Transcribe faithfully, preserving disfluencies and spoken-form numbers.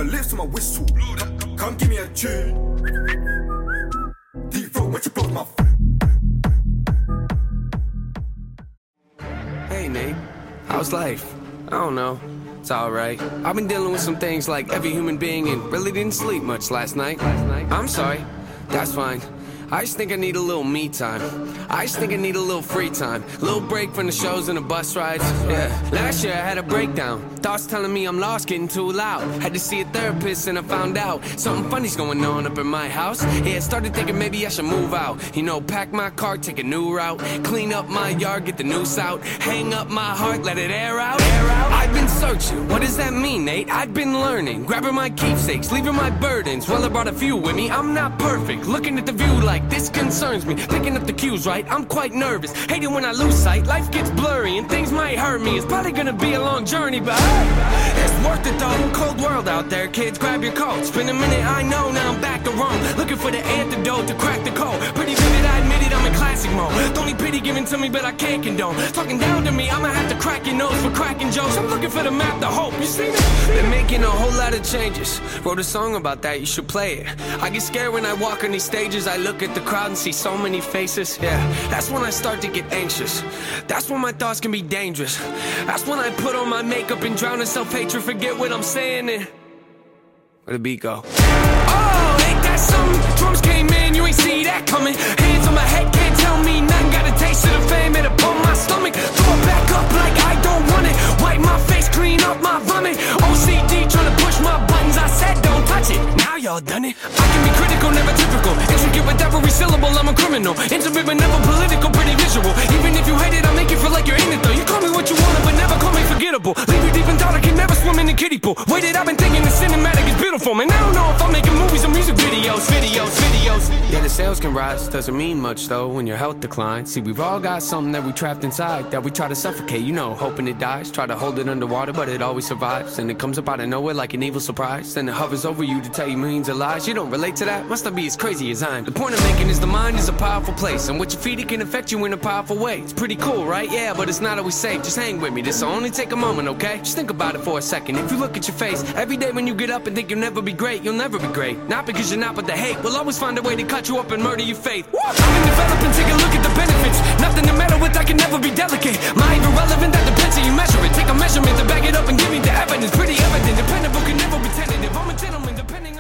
my lips to my whistle. Come give me a tune. Deep throat when you broke my. Hey Nate, how's life? I don't know. It's alright. I've been dealing with some things like every human being and really didn't sleep much last night. Last night. I'm sorry. That's fine. I just think I need a little me time. I just think I need a little free time. Little break from the shows and the bus rides. Yeah. Last year I had a breakdown. Thoughts telling me I'm lost, getting too loud. Had to see a therapist and I found out something funny's going on up in my house. Yeah, started thinking maybe I should move out. You know, pack my car, take a new route. Clean up my yard, get the noose out. Hang up my heart, let it air out. Air out. I've been searching. What does that mean, Nate? I've been learning. Grabbing my keepsakes, leaving my burdens. Well, I brought a few with me. I'm not perfect. Looking at the view like this concerns me. Picking up the cues right, I'm quite nervous. Hate it when I lose sight, life gets blurry and things might hurt me. It's probably gonna be a long journey, but hey, it's worth it though. Cold world out there, kids, grab your coats. Been a minute, I know, now I'm back to Rome. Looking for the antidote to crack the code. Pretty vivid, I admit it, I'm in classic mode. Don't need pity given to me, but I can't condone. Talking down to me, I'ma have to crack your nose for cracking jokes. I'm looking for the map, the hope, you see me? Been making a whole lot of changes. Wrote a song about that, you should play it. I get scared when I walk on these stages. I look at the crowd and see so many faces. Yeah, that's when I start to get anxious. That's when my thoughts can be dangerous. That's when I put on my makeup and drown in self-hatred. Forget what I'm saying and where the beat go? Oh, ain't that something? Drums came in, you ain't see that coming. Hands on my head, can't tell me nothing. Got a taste of the fame, it upon my stomach. Throw it back up like I don't want it. Wipe my face, clean up my vomit. O C D trying to push my buttons. I said don't touch it, now y'all done it. I can be critical, never typical. Intricate with every syllable, I'm a criminal. Intimate but never political, pretty visual. Even if you hate it, I make you feel like you're in it though. You call me what you want, but never call me forgettable. Leave you deep in thought, I can never swim in the kiddie pool. Waited, I've been thinking the cinematic is beautiful, man. I don't know if I'm making movies or music videos, videos, videos. Yeah, the sales can rise, doesn't mean much though when your health declines. See, we've all got something that we trapped inside that we try to suffocate, you know, hoping it dies. Try to hold it underwater, but it always survives. And it comes up out of nowhere like an evil surprise. Then it hovers over you to tell you millions of lies. You don't relate to that? Must not be as crazy as I am. The point I'm making is the mind is a powerful place, and what you feed it can affect you in a powerful way. It's pretty cool, right? Yeah, but it's not always safe. Just hang with me, this'll only take a moment, okay? Just think about it for a second. If you look at your face every day when you get up and think you'll never be great, you'll never be great. Not because you're not, but the hate will always find a way to cut you up and murder your faith. I've been developing, take a look at the benefits. Nothing to meddle with, I can never be delicate. Mind irrelevant, that depends how you measure it. Take a measurement to back it up and give me the evidence. Pretty evident, dependable can never be tentative. I'm a gentleman, depending